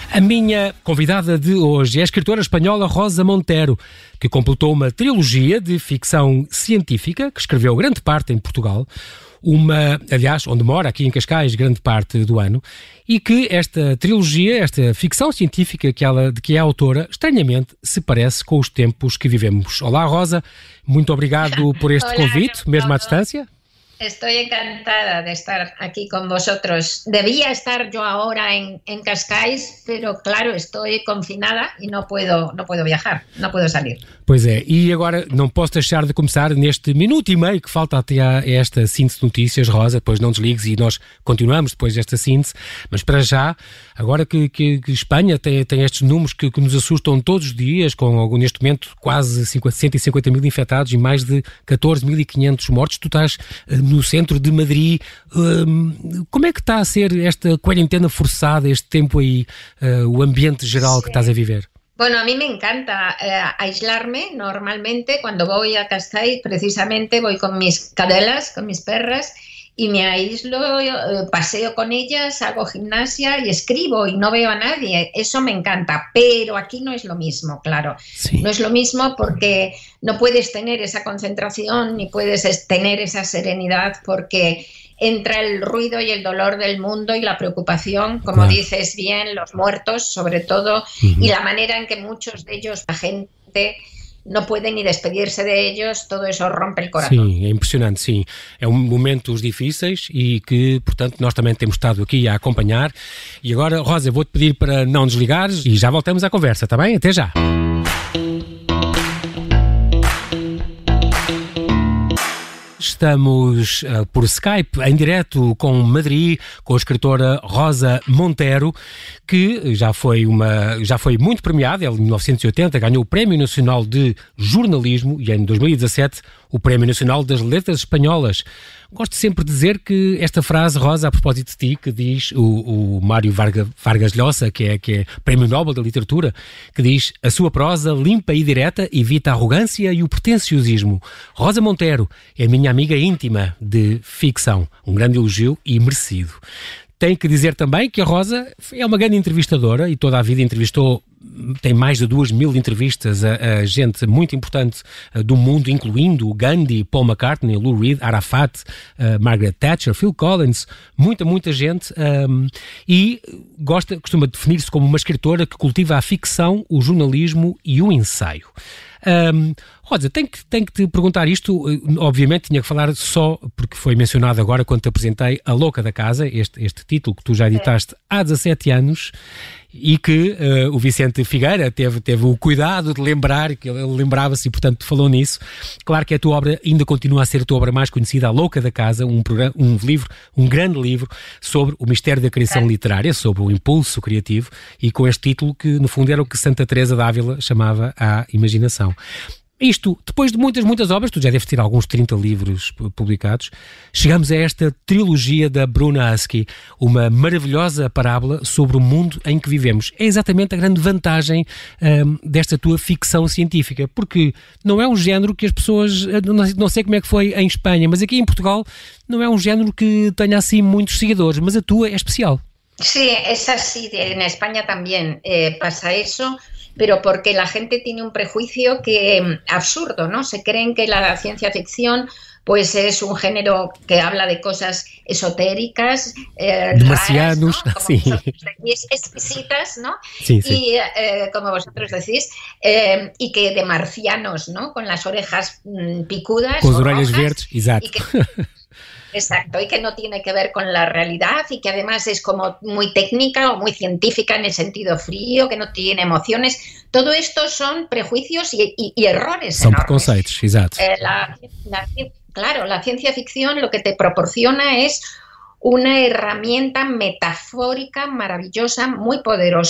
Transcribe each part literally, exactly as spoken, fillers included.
A minha convidada de hoje é a escritora espanhola Rosa Montero, que completou uma trilogia de ficção científica, que escreveu grande parte em Portugal, uma, aliás, onde mora, aqui em Cascais, grande parte do ano, e que esta trilogia, esta ficção científica que ela, de que é autora, estranhamente se parece com os tempos que vivemos. Olá, Rosa, muito obrigado por este Olá, convite, no, mesmo no, à distância. Estoy encantada de estar aquí con vosotros. Debía estar yo ahora en, en Cascais, pero claro, estoy confinada y no puedo, no puedo viajar, no puedo salir. Pois é, e agora não posso deixar de começar neste minuto e meio que falta até a esta síntese de notícias, Rosa, depois não desligues e nós continuamos depois desta síntese, mas para já, agora que, que, que Espanha tem, tem estes números que, que nos assustam todos os dias, com neste momento quase cento e cinquenta mil infectados e mais de catorze mil e quinhentos mortos, tu estás no centro de Madrid, um, como é que está a ser esta quarentena forçada, este tempo aí, uh, o ambiente geral sí. que estás a viver? Bueno, a mí me encanta eh, aislarme. Normalmente cuando voy a Cascais, precisamente voy con mis cadelas, con mis perras, y me aíslo, eh, paseo con ellas, hago gimnasia y escribo y no veo a nadie. Eso me encanta, pero aquí no es lo mismo, claro. Sí. No es lo mismo porque no puedes tener esa concentración ni puedes tener esa serenidad porque entra el ruido y el dolor del mundo y la preocupación, como claro. dices bien, los muertos sobre todo, uh-huh. y la manera en que muchos de ellos, la gente, não podem nem despedir-se de ellos, todo isso rompe o coração. Sim, é impressionante, sim. É um momentos difíceis e que, portanto, nós também temos estado aqui a acompanhar. E agora, Rosa, vou-te pedir para não desligares e já voltamos à conversa, está bem? Até já! Estamos uh, por Skype, em direto com Madrid, com a escritora Rosa Montero, que já foi, uma, já foi muito premiada. Ela, em mil novecentos e oitenta, ganhou o Prémio Nacional de Jornalismo e, em dois mil e dezassete, o Prémio Nacional das Letras Espanholas. Gosto sempre de dizer que esta frase, Rosa, a propósito de ti, que diz o, o Mário Varga, Vargas Llosa, que é, que é Prémio Nobel da Literatura, que diz: a sua prosa limpa e direta evita a arrogância e o pretenciosismo. Rosa Montero é a minha amiga íntima de ficção. Um grande elogio e merecido. Tenho que dizer também que a Rosa é uma grande entrevistadora e toda a vida entrevistou, tem mais de duas mil entrevistas a, a gente muito importante uh, do mundo, incluindo Gandhi, Paul McCartney, Lou Reed, Arafat, uh, Margaret Thatcher, Phil Collins, muita, muita gente, um, e gosta, costuma definir-se como uma escritora que cultiva a ficção, o jornalismo e o ensaio. Um, Rosa, tenho que, tenho que te perguntar isto, obviamente tinha que falar só, porque foi mencionado agora quando te apresentei A Louca da Casa, este, este título que tu já editaste há dezassete anos e que uh, o Vicente Figueira teve, teve o cuidado de lembrar, que ele lembrava-se e portanto falou nisso. Claro que a tua obra ainda continua a ser a tua obra mais conhecida, A Louca da Casa, um, programa, um livro, um grande livro sobre o mistério da criação literária, sobre o impulso criativo, e com este título que no fundo era o que Santa Teresa d'Ávila chamava a imaginação. Isto, depois de muitas, muitas obras, tu já deves ter alguns trinta livros publicados, chegamos a esta trilogia da Bruna Husky, uma maravilhosa parábola sobre o mundo em que vivemos. É exatamente a grande vantagem um, desta tua ficção científica, porque não é um género que as pessoas, não sei como é que foi em Espanha, mas aqui em Portugal não é um género que tenha assim muitos seguidores, mas a tua é especial. Sí, es así, en España también eh, pasa eso, pero porque la gente tiene un prejuicio que absurdo, ¿no? Se creen que la ciencia ficción pues es un género que habla de cosas esotéricas, eh, de marcianos, raras, ¿no? Como sí. vosotros decís, exquisitas, ¿no? Sí, sí. Y eh, como vosotros decís, eh, y que de marcianos, ¿no? Con las orejas mmm, picudas, con las orejas verdes, exacto. Y que, exacto, y que no tiene que ver con la realidad y que además es como muy técnica o muy científica en el sentido frío, que no tiene emociones. Todo esto son prejuicios y, y, y errores Son enormes. preconceitos, exacto. Eh, la, la, claro, la ciencia ficción lo que te proporciona es una herramienta metafórica maravillosa, muy poderosa,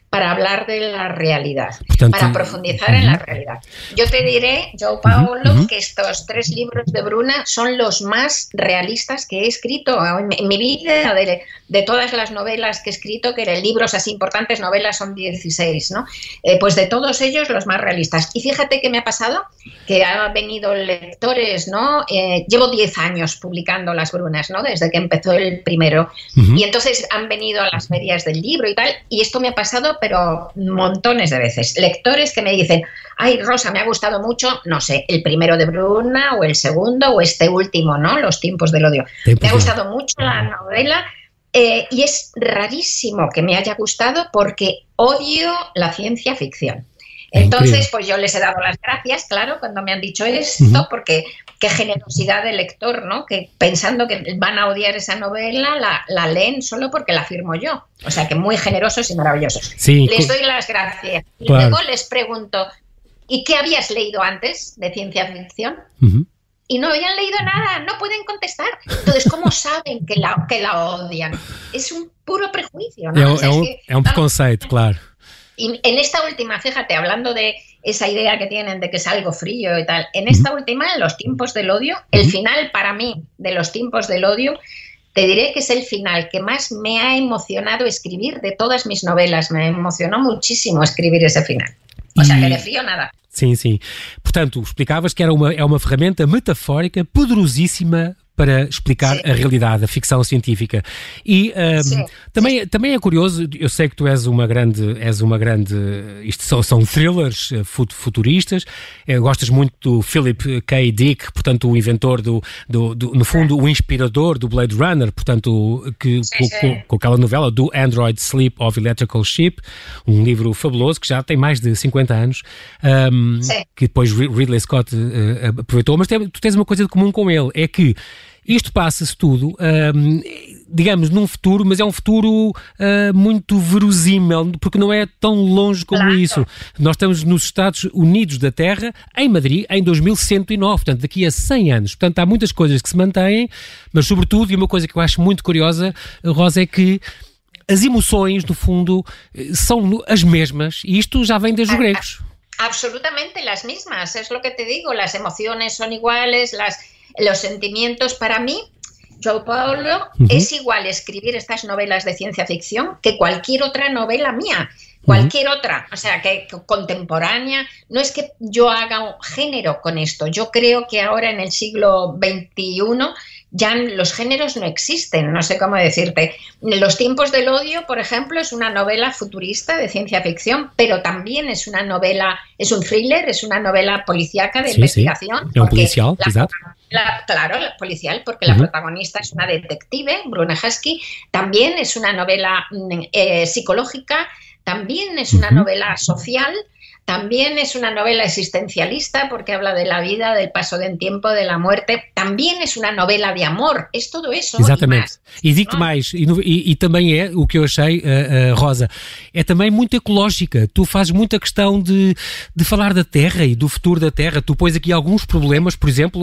para hablar de la realidad, Portanto, para profundizar uh-huh. en la realidad. Yo te diré, João Paulo, uh-huh. que estos tres libros de Bruna son los más realistas que he escrito en, en mi vida, de, de todas las novelas que he escrito, que eran libros así importantes, novelas son dieciséis, ¿no? Eh, pues de todos ellos los más realistas. Y fíjate qué me ha pasado, que han venido lectores, ¿no? Eh, llevo diez años publicando Las Brunas, ¿no? Desde que empezó el primero. Uh-huh. Y entonces han venido a las ferias del libro y tal, y esto me ha pasado, pero montones de veces. Lectores que me dicen, ay, Rosa, me ha gustado mucho, no sé, el primero de Bruna o el segundo o este último, ¿no? Los tiempos del odio. Tiempos me ha gustado mucho la novela eh, y es rarísimo que me haya gustado porque odio la ciencia ficción. Entonces, pues yo les he dado las gracias, claro, cuando me han dicho esto, uh-huh. porque qué generosidad del lector, ¿no? Que pensando que van a odiar esa novela, la, la leen solo porque la firmo yo. O sea, que muy generosos y maravillosos. Sí, les doy las gracias. Y claro. luego les pregunto, ¿y qué habías leído antes de ciencia ficción? Uh-huh. Y no habían leído nada, no pueden contestar. Entonces, ¿cómo saben que la, que la odian? Es un puro prejuicio, ¿no? É, o sea, é, um, es que, é um preconceito, claro. Y en esta última, fíjate, hablando de esa idea que tienen de que es algo frío y tal, en esta uh-huh. última, en Los tiempos del odio, uh-huh. el final para mí de Los tiempos del odio, te diré que es el final que más me ha emocionado escribir de todas mis novelas. Me emocionó muchísimo escribir ese final. O sea, que de frío nada. Sim, sim. Portanto, explicavas que era uma, é uma ferramenta metafórica poderosíssima para explicar Sim. a realidade, a ficção científica. E um, também, também é curioso, eu sei que tu és uma grande, és uma grande, isto são, são thrillers futuristas, gostas muito do Philip K. Dick, portanto o inventor do, do, do no fundo o inspirador do Blade Runner, portanto que, sim, com, com, com aquela novela do Android Sleep of Electrical Sheep, um livro fabuloso que já tem mais de cinquenta anos, um, que depois Ridley Scott uh, aproveitou, mas tem, tu tens uma coisa de comum com ele, é que isto passa-se tudo, um, digamos, num futuro, mas é um futuro uh, muito verosímil, porque não é tão longe como claro. isso. Nós estamos nos Estados Unidos da Terra, em Madrid, em dois mil cento e nove, portanto, daqui a cem anos. Portanto, há muitas coisas que se mantêm, mas, sobretudo, e uma coisa que eu acho muito curiosa, Rosa, é que as emoções, no fundo, são as mesmas, e isto já vem desde os gregos. Absolutamente las mismas, es lo que te digo, las emociones son iguales, las... Los sentimientos, para mí, João Paulo, uh-huh. es igual escribir estas novelas de ciencia ficción que cualquier otra novela mía, cualquier uh-huh. otra, o sea, que, que contemporánea. No es que yo haga un género con esto, yo creo que ahora en el siglo veintiuno ya los géneros no existen, no sé cómo decirte. Los tiempos del odio, por ejemplo, es una novela futurista de ciencia ficción, pero también es una novela, es un thriller, es una novela policíaca de sí, investigación. Sí. Un policial, la, la, claro, la policial, porque uh-huh. la protagonista es una detective, Bruna Husky. También es una novela eh, psicológica, también es una uh-huh. novela social. También es una novela existencialista porque habla de la vida, del paso del tiempo, de la muerte. Também é uma novela de amor. É tudo isso. Exatamente. E, e digo-te mais, e, e, e também é, o que eu achei, uh, uh, Rosa, é também muito ecológica. Tu fazes muita questão de, de falar da Terra e do futuro da Terra. Tu pões aqui alguns problemas, por exemplo,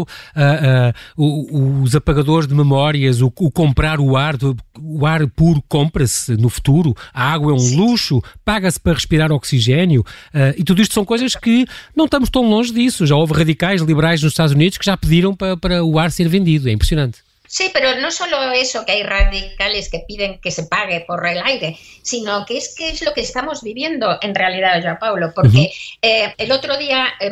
uh, uh, os apagadores de memórias, o, o comprar o ar, o ar puro compra-se no futuro, a água é um Sim. luxo, paga-se para respirar oxigênio, uh, e tudo isto são coisas que não estamos tão longe disso. Já houve radicais liberais nos Estados Unidos que já pediram para, para o ar ser vendido. É impressionante. Sí, pero no solo eso, que hay radicales que piden que se pague por el aire, sino que es que es lo que estamos viviendo en realidad, João Paulo, porque uh-huh. eh, el otro día eh,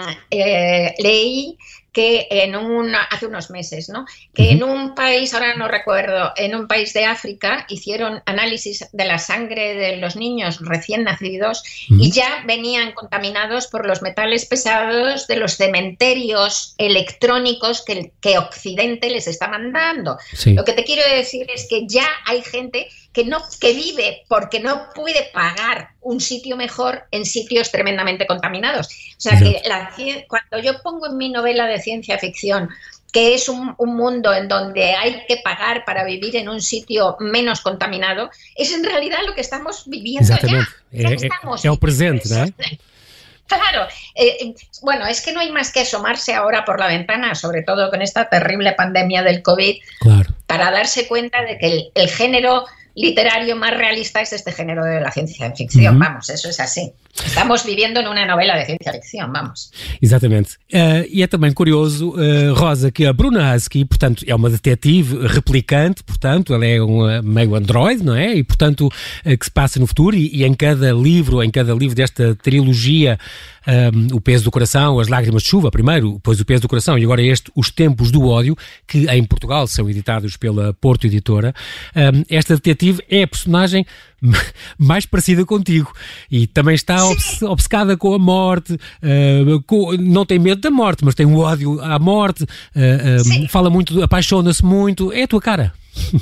eh, leí que en un, hace unos meses, ¿no? Que uh-huh. en un país, ahora no recuerdo, en un país de África hicieron análisis de la sangre de los niños recién nacidos uh-huh. y ya venían contaminados por los metales pesados de los cementerios electrónicos que, que Occidente les está mandando. Sí. Lo que te quiero decir es que ya hay gente que no que vive porque no puede pagar un sitio mejor en sitios tremendamente contaminados. O sea, que la, cuando yo pongo en mi novela de ciencia ficción que es un, un mundo en donde hay que pagar para vivir en un sitio menos contaminado, es en realidad lo que estamos viviendo Exactamente. ya. ya é, estamos é, é o presente, ¿no? Claro, eh, bueno, es que no hay más que asomarse ahora por la ventana, sobre todo con esta terrible pandemia del COVID, claro. para darse cuenta de que el, el género literario más realista es este género de la ciencia ficción, uhum. vamos, eso es así. Estamos viviendo numa novela de ciencia ficção, vamos. Exatamente. Uh, e é também curioso, uh, Rosa, que a Bruna Husky, portanto, é uma detetive replicante, portanto, ela é um meio androide, não é? E, portanto, uh, que se passa no futuro e, e em cada livro, em cada livro desta trilogia, um, O Peso do Coração, As Lágrimas de Chuva, primeiro, depois O Peso do Coração e agora este, Os Tempos do Ódio, que em Portugal são editados pela Porto Editora, um, esta detetive é a personagem mais parecida contigo e também está obce- obcecada com a morte, uh, com, não tem medo da morte, mas tem um ódio à morte, uh, uh, fala muito, apaixona-se muito, é a tua cara.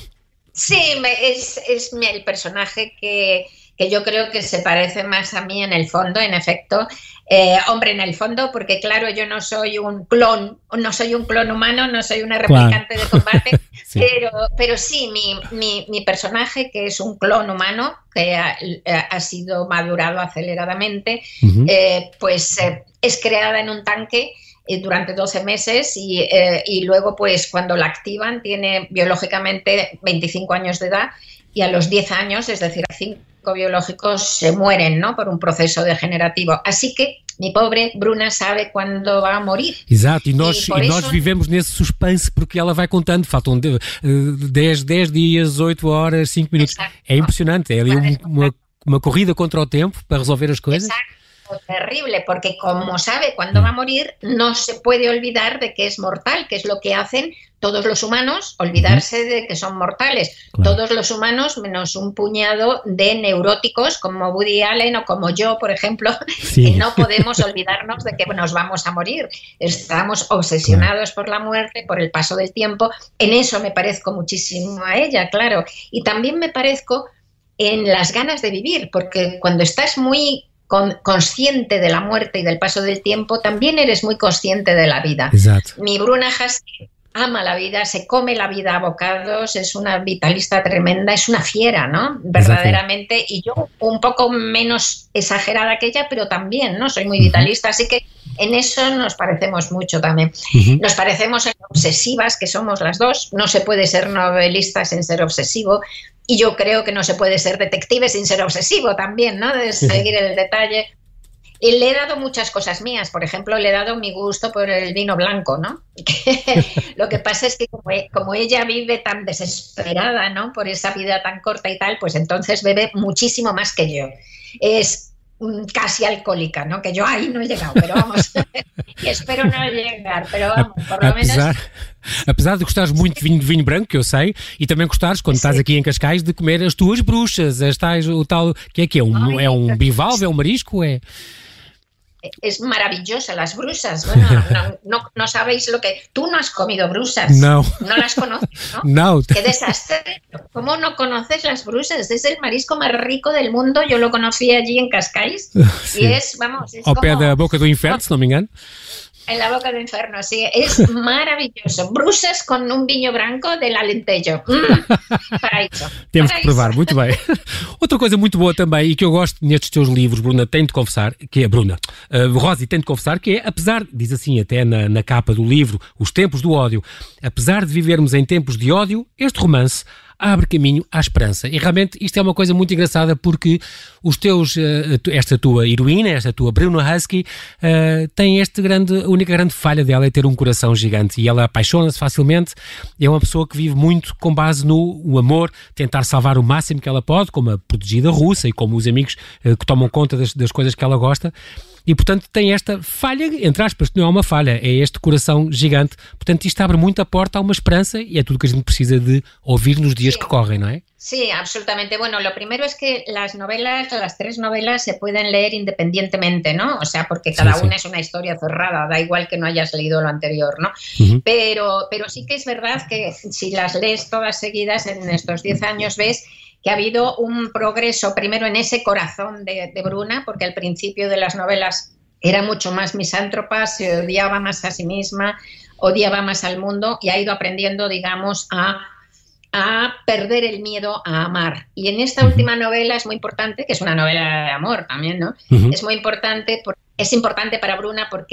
Sí, es, es el personaje que, que yo creo que se parece más a mí en el fondo, en efecto. Eh, hombre, en el fondo, porque claro, yo no soy un clon, no soy un clon humano, no soy una replicante claro. de combate, sí. pero, pero sí, mi, mi, mi personaje, que es un clon humano, que ha, ha sido madurado aceleradamente, uh-huh. eh, pues eh, es creada en un tanque durante doce meses y, eh, y luego pues cuando la activan tiene biológicamente veinticinco años de edad y a los diez años, es decir, a cinco biológicos se mueren, ¿no? Por un proceso degenerativo. Así que mi pobre Bruna sabe cuándo va a morir. Exato, e nós, e, e nós isso... vivemos nesse suspense porque ela vai contando, faltam dez dias, oito horas, cinco minutos. Exacto. É impressionante, é ali um, uma, uma corrida contra o tempo para resolver as coisas. Exacto. Terrible, porque como sabe cuándo va a morir, no se puede olvidar de que es mortal, que es lo que hacen todos los humanos, olvidarse de que son mortales. Claro. Todos los humanos, menos un puñado de neuróticos como Woody Allen o como yo, por ejemplo, sí. que no podemos olvidarnos de que nos vamos a morir. Estamos obsesionados claro. por la muerte, por el paso del tiempo. En eso me parezco muchísimo a ella, claro. Y también me parezco en las ganas de vivir, porque cuando estás muy Con, consciente de la muerte y del paso del tiempo, también eres muy consciente de la vida. Exacto. Mi Bruna Husky ama la vida, se come la vida a bocados, es una vitalista tremenda, es una fiera, ¿no? Verdaderamente. Exacto. Y yo un poco menos exagerada que ella, pero también, ¿no? Soy muy vitalista, uh-huh. así que en eso nos parecemos mucho también. Uh-huh. Nos parecemos en obsesivas, que somos las dos. No se puede ser novelista sin ser obsesivo. Y yo creo que no se puede ser detective sin ser obsesivo también, ¿no? De seguir el detalle. Y le he dado muchas cosas mías. Por ejemplo, le he dado mi gusto por el vino blanco, ¿no? Lo que pasa es que como, como ella vive tan desesperada, ¿no? Por esa vida tan corta y tal, pues entonces bebe muchísimo más que yo. Es casi alcohólica, ¿no? Que yo ahí no he llegado, pero vamos, y espero no llegar, pero vamos, por lo apesar, menos... Apesar de gostares muito de vinho, de vinho branco, que eu sei, e também gostares, quando Sim. estás aqui em Cascais, de comer as tuas bruxas, as tais, o tal, que é que é? Um, Ai, é um bivalve, é um marisco, é... Es maravillosa, las brusas. Bueno, no, no, no sabéis lo que... Tú no has comido brusas. No. No las conoces, ¿no? No. Qué desastre. ¿Cómo no conoces las brusas? Es el marisco más rico del mundo. Yo lo conocí allí en Cascais. Sí. Y es, vamos... Es Ao como... pé da boca do inferno, se não me engano. En la boca del infierno, sí. Es maravilloso. Brusas con un viño branco del Alentejo. Mm, paraíso. Temos paraíso. que provar, muito bem. Outra coisa muito boa também, e que eu gosto nestes teus livros, Bruna, tenho de confessar, que é, Bruna, uh, Rosi, tenho de confessar, que é, apesar, diz assim até na, na capa do livro, Os Tempos do Ódio, apesar de vivermos em tempos de ódio, este romance abre caminho à esperança. E realmente isto é uma coisa muito engraçada porque os teus, esta tua heroína, esta tua Bruna Husky, uh, tem este grande, a única grande falha dela é ter um coração gigante e ela apaixona-se facilmente, é uma pessoa que vive muito com base no o amor, tentar salvar o máximo que ela pode, como a protegida russa e como os amigos uh, que tomam conta das, das coisas que ela gosta. E, portanto, tem esta falha, entre aspas, que não é uma falha, é este coração gigante. Portanto, isto abre muito a porta a uma esperança e é tudo que a gente precisa de ouvir nos dias sí. que correm, não é? Sí, absolutamente. Bueno, lo primero es que las novelas, las tres novelas se pueden leer independientemente, ¿no? O sea, porque cada sí, sí. una es una historia cerrada, da igual que no hayas leído lo anterior, ¿no? Uh-huh. Pero, pero sí que es verdad que si las lees todas seguidas en estos diez años ves que ha habido un progreso primero en ese corazón de, de Bruna, porque al principio de las novelas era mucho más misántropa, se odiaba más a sí misma, odiaba más al mundo y ha ido aprendiendo, digamos, a, a perder el miedo a amar. Y en esta uh-huh. última novela es muy importante, que es una novela de amor también, ¿no? Uh-huh. Es muy importante, por, es importante para Bruna porque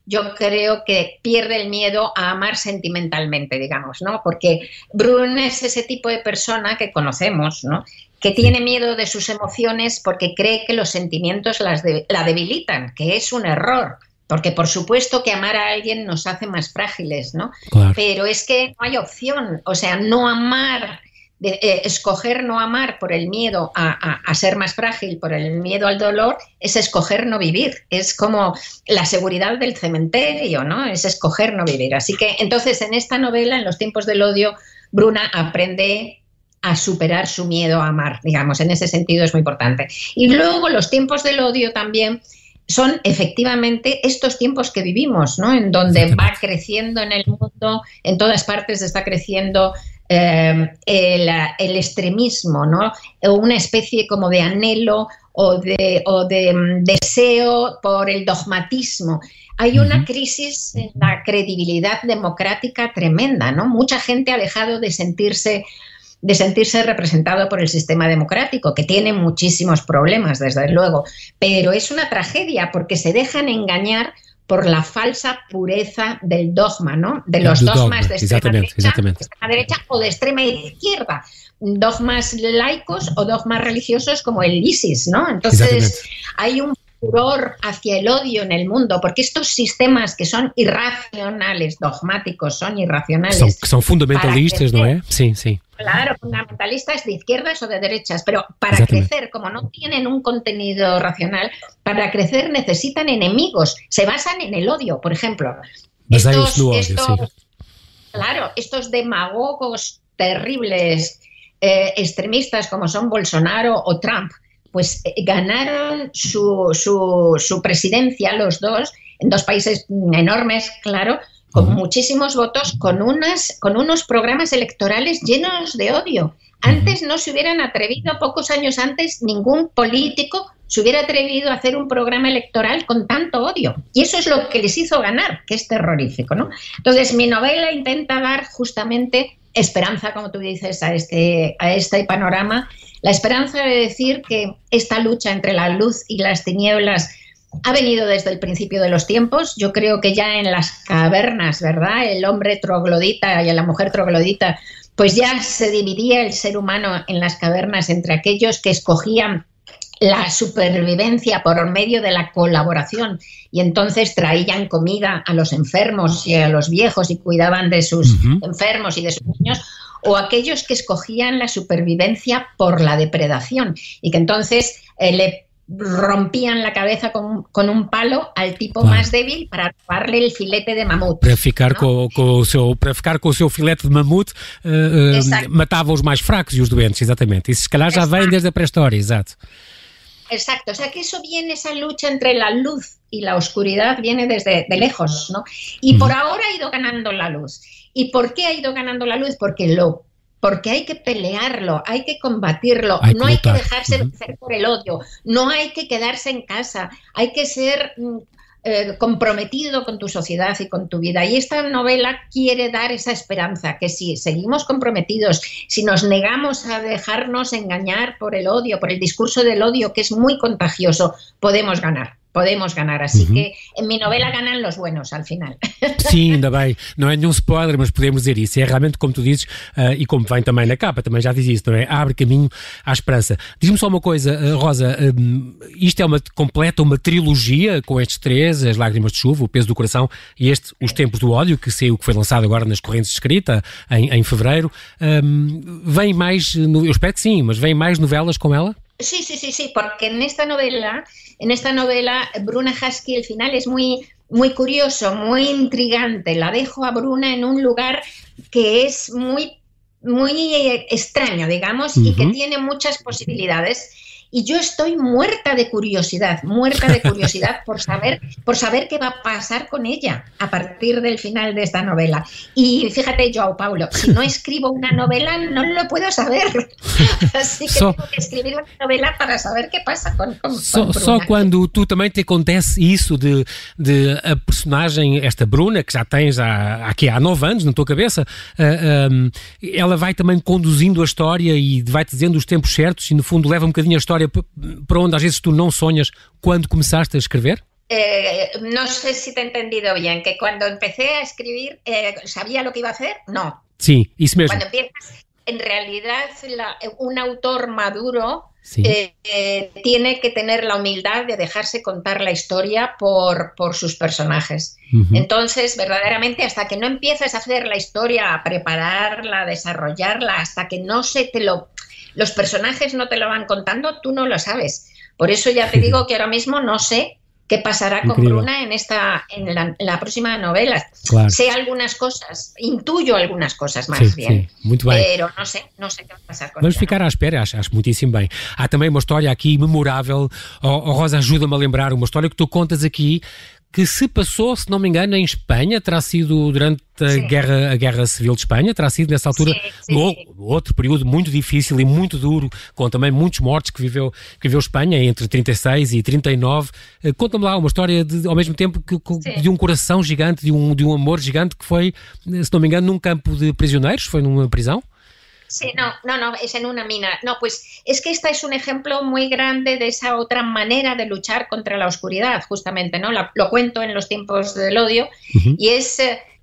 yo creo que pierde el miedo a amar sentimentalmente, digamos, ¿no? Porque Bruna es ese tipo de persona que conocemos, ¿no? Que tiene miedo de sus emociones porque cree que los sentimientos las de, la debilitan, que es un error. Porque por supuesto que amar a alguien nos hace más frágiles, ¿no? Claro. Pero es que no hay opción, o sea, no amar, de, eh, escoger no amar por el miedo a, a, a ser más frágil, por el miedo al dolor, es escoger no vivir. Es como la seguridad del cementerio, ¿no? Es escoger no vivir. Así que entonces en esta novela, en Los tiempos del odio, Bruna aprende a superar su miedo a amar, digamos, en ese sentido es muy importante. Y luego Los tiempos del odio también son efectivamente estos tiempos que vivimos, ¿no? En donde va creciendo en el mundo, en todas partes está creciendo eh, el, el extremismo, ¿no? Una especie como de anhelo o de, o de um, deseo por el dogmatismo. Hay una crisis en la credibilidad democrática tremenda, ¿no? Mucha gente ha dejado de sentirse de sentirse representado por el sistema democrático, que tiene muchísimos problemas, desde luego, pero es una tragedia porque se dejan engañar por la falsa pureza del dogma, ¿no? De los dogmas dogma, de, extrema derecha, de extrema derecha o de extrema izquierda, dogmas laicos o dogmas religiosos como el ISIS, ¿no? Entonces hay un furor hacia el odio en el mundo, porque estos sistemas que son irracionales, dogmáticos, son irracionales. Son, son fundamentalistas, ¿no es? Sí, sí. Claro, fundamentalistas de izquierdas o de derechas, pero para crecer, como no tienen un contenido racional, para crecer necesitan enemigos, se basan en el odio, por ejemplo. Estos, odio, estos, sí. Claro, estos demagogos terribles, eh, extremistas como son Bolsonaro o Trump, pues eh, ganaron su, su, su presidencia los dos, en dos países enormes, claro, con uh-huh. muchísimos votos, con, unas, con unos programas electorales llenos de odio. Antes no se hubieran atrevido, pocos años antes, ningún político se hubiera atrevido a hacer un programa electoral con tanto odio. Y eso es lo que les hizo ganar, que es terrorífico, ¿no? Entonces, mi novela intenta dar justamente esperanza, como tú dices, a este, a este panorama. La esperanza de decir que esta lucha entre la luz y las tinieblas ha venido desde el principio de los tiempos. Yo creo que ya en las cavernas, ¿verdad? El hombre troglodita y la mujer troglodita, pues ya se dividía el ser humano en las cavernas entre aquellos que escogían la supervivencia por medio de la colaboración y entonces traían comida a los enfermos y a los viejos y cuidaban de sus uh-huh. enfermos y de sus niños, o aquellos que escogían la supervivencia por la depredación y que entonces eh, le rompían la cabeza con, con un palo al tipo claro. más débil para robarle el filete de mamut. Para ficar, ¿no? com, com o seu, para ficar com o seu filete de mamute, uh, uh, matava os mais fracos e os doentes, exatamente. Isso se calhar já vem desde a pré-história, exato. Exacto, o sea que eso viene, esa lucha entre la luz y la oscuridad viene desde de lejos, ¿no? Y uh-huh. por ahora ha ido ganando la luz. ¿Y por qué ha ido ganando la luz? Porque lo porque hay que pelearlo, hay que combatirlo, hay no que hay que dejarse uh-huh. vencer por el odio, no hay que quedarse en casa, hay que ser eh, comprometido con tu sociedad y con tu vida. Y esta novela quiere dar esa esperanza, que si seguimos comprometidos, si nos negamos a dejarnos engañar por el odio, por el discurso del odio, que es muy contagioso, podemos ganar. Podemos ganar, así uhum. que en mi novela ganam los buenos al final. Sim, ainda bem, não é nenhum spoiler, mas podemos dizer isso, é realmente como tu dizes, uh, e como vem também na capa, também já diz isso, não é? Abre caminho à esperança. Diz-me só uma coisa, uh, Rosa, um, isto é uma completa uma trilogia com estes três, As Lágrimas de Chuva, O Peso do Coração e este, Os Tempos do Ódio, que saiu, que foi lançado agora nas Correntes de Escrita, em, em fevereiro. Um, vem mais, eu espero que sim, mas vem mais novelas com ela? Sí, sí, sí, sí, porque en esta novela, en esta novela, Bruna Husky, el final es muy, muy curioso, muy intrigante. La dejo a Bruna en un lugar que es muy, muy extraño, digamos, uh-huh. y que tiene muchas posibilidades. Y yo estoy muerta de curiosidad, muerta de curiosidad por saber, por saber qué va a pasar con ella a partir del final de esta novela. Y fíjate, João Paulo, si no escribo una novela no lo puedo saber. Así que só, tengo que escrever uma novela para saber qué pasa con, con, só, con só quando tu também te acontece isso de, de a personagem, esta Bruna, que já tens há, aqui há nove anos na tua cabeça, uh, um, ela vai também conduzindo a história e vai-te dizendo os tempos certos e no fundo leva um bocadinho a história para onde às vezes tu não sonhas quando começaste a escrever? Eh, no sé si te he entendido bien, que cuando empecé a escribir, eh, ¿sabía lo que iba a hacer? No. Sí, eso mismo. Cuando empiezas, en realidad, la, un autor maduro sí. eh, eh, tiene que tener la humildad de dejarse contar la historia por, por sus personajes. Uh-huh. Entonces, verdaderamente, hasta que no empiezas a hacer la historia, a prepararla, a desarrollarla, hasta que no se te lo... los personajes no te lo van contando, tú no lo sabes. Por eso ya te digo que ahora mismo no sé qué pasará con Increíble. Bruna en esta en la, en la próxima novela. Claro. Sé algunas cosas, intuyo algunas cosas mais sim, bien, sim. Muito bem. Pero não sei, não sei o que vai passar com Vamos ela. ficar à espera, acho, acho muitíssimo bem. Há também uma história aqui memorável, oh, oh, Rosa, ajuda-me a lembrar, uma história que tu contas aqui, que se passou, se não me engano, em Espanha, terá sido durante a guerra, a guerra Civil de Espanha, terá sido nessa altura sim, sim, no, sim. outro período muito difícil e muito duro, com também muitos mortos que viveu, que viveu Espanha entre trinta e seis e trinta e nove. Conta-me lá uma história de, ao mesmo tempo que, que, de um coração gigante, de um, de um amor gigante que foi, se não me engano, num campo de prisioneiros, foi numa prisão? Sí, no, no, no, es en una mina. No, pues es que esta es un ejemplo muy grande de esa otra manera de luchar contra la oscuridad, justamente, ¿no? La, lo cuento en Los tiempos del odio, uh-huh. y es,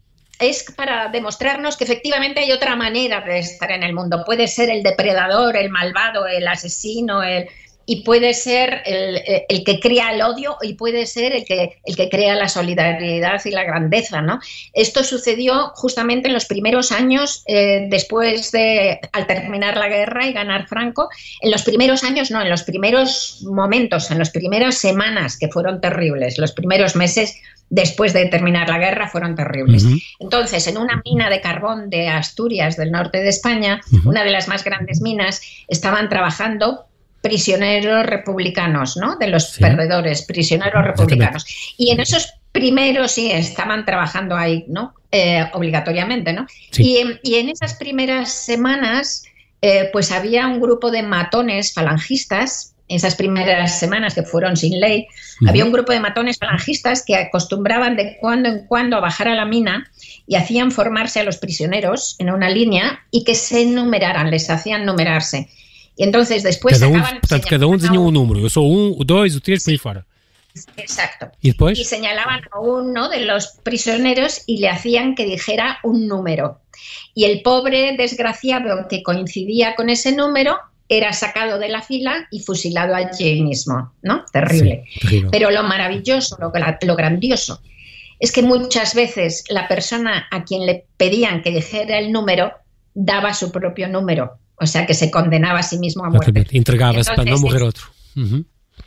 es para demostrarnos que efectivamente hay otra manera de estar en el mundo. Puede ser el depredador, el malvado, el asesino, el... y puede ser el, el que crea el odio y puede ser el que, el que crea la solidaridad y la grandeza, ¿no? Esto sucedió justamente en los primeros años, eh, después de, al terminar la guerra y ganar Franco, en los primeros años, no, en los primeros momentos, en las primeras semanas que fueron terribles, los primeros meses después de terminar la guerra fueron terribles. Uh-huh. Entonces, en una mina de carbón de Asturias, del norte de España, uh-huh. una de las más grandes minas, estaban trabajando prisioneros republicanos, ¿no? De los sí. perdedores, prisioneros republicanos. Y en esos primeros sí estaban trabajando ahí, ¿no? Eh, obligatoriamente, ¿no? Sí. Y, y en esas primeras semanas, eh, pues había un grupo de matones falangistas, esas primeras semanas que fueron sin ley, uh-huh. había un grupo de matones falangistas que acostumbraban de cuando en cuando a bajar a la mina y hacían formarse a los prisioneros en una línea y que se numeraran, les hacían numerarse. E entonces después cada um, sacaban, portanto, cada um tinha um número. Eu sou um, o dois, o três, por aí fora. Exacto. ¿Y después? Y señalaban a uno de los prisioneros y le hacían que dijera un número. Y el pobre desgraciado que coincidía con ese número era sacado de la fila y fusilado allí mismo, ¿no? Terrible. Sí, terrible. Pero lo maravilloso, lo, lo grandioso, es que muchas veces la persona a quien le pedían que dijera el número daba su propio número. O sea, que se condenaba a sí mismo a muerte. Entregaba-se para no morrer otro. Uh-huh.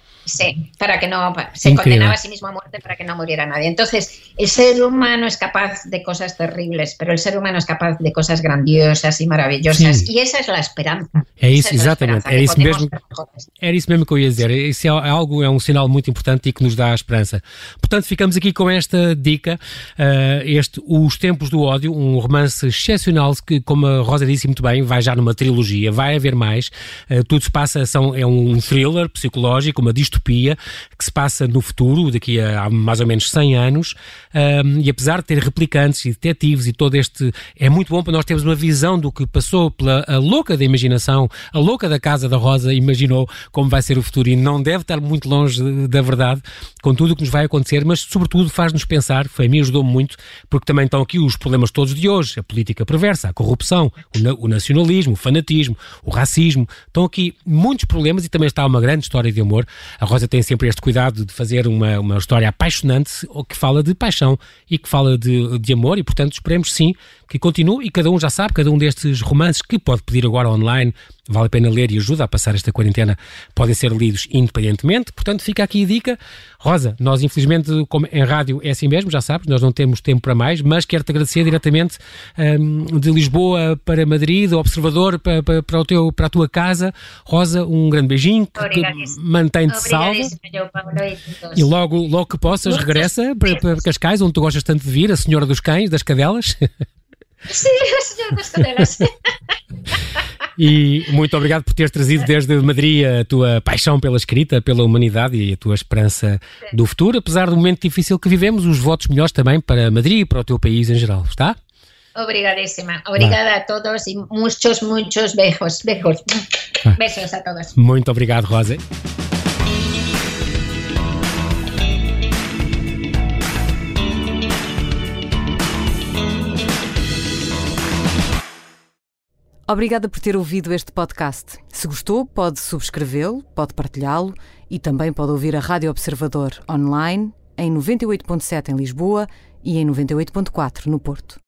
Sí, para que no, se Increíble. Condenaba a sí mismo a muerte para que no muriera nadie. Entonces, el ser humano es capaz de cosas terribles, pero el ser humano es capaz de cosas grandiosas y maravillosas. Sim. E essa é a esperança. É isso, exatamente. É isso mesmo, era isso mesmo que eu ia dizer. Isso é algo, é um sinal muito importante e que nos dá a esperança. Portanto, ficamos aqui com esta dica, uh, este Os Tempos do Ódio, um romance excepcional que, como a Rosa disse muito bem, vai já numa trilogia, vai haver mais. Uh, tudo se passa, são, é um thriller psicológico, uma distopia que se passa no futuro, daqui a, a mais ou menos cem anos, um, e apesar de ter replicantes e detetives e todo este... É muito bom para nós termos uma visão do que passou pela a louca da imaginação, a louca da casa da Rosa imaginou como vai ser o futuro e não deve estar muito longe da verdade com tudo o que nos vai acontecer, mas sobretudo faz-nos pensar, foi a mim ajudou-me muito, porque também estão aqui os problemas todos de hoje, a política perversa, a corrupção, o, na, o nacionalismo, o fanatismo, o racismo, estão aqui muitos problemas e também está uma grande história de amor. A Rosa tem sempre este cuidado de fazer uma, uma história apaixonante, que fala de paixão e que fala de, de amor e, portanto, esperemos sim que continue e cada um já sabe, cada um destes romances que pode pedir agora online, vale a pena ler e ajuda a passar esta quarentena, podem ser lidos independentemente, portanto fica aqui a dica. Rosa, nós infelizmente como em rádio é assim mesmo, já sabes, nós não temos tempo para mais, mas quero-te agradecer diretamente um, de Lisboa para Madrid, do Observador para, para, para, o teu, para a tua casa. Rosa, um grande beijinho, que mantém-te salva e logo, logo que possas regressa para, para Cascais, onde tu gostas tanto de vir, a Senhora dos Cães, das Cadelas. Sim, a Senhora das Cadelas. E muito obrigado por teres trazido desde Madrid a tua paixão pela escrita, pela humanidade e a tua esperança do futuro, apesar do momento difícil que vivemos, os votos melhores também para Madrid e para o teu país em geral, está? Obrigadíssima. Obrigada ah. a todos e muitos, muitos beijos. Beijos. Ah. Beijos a todos. Muito obrigado, Rosa. Obrigada por ter ouvido este podcast. Se gostou, pode subscrevê-lo, pode partilhá-lo e também pode ouvir a Rádio Observador online em noventa e oito ponto sete em Lisboa e em noventa e oito ponto quatro no Porto.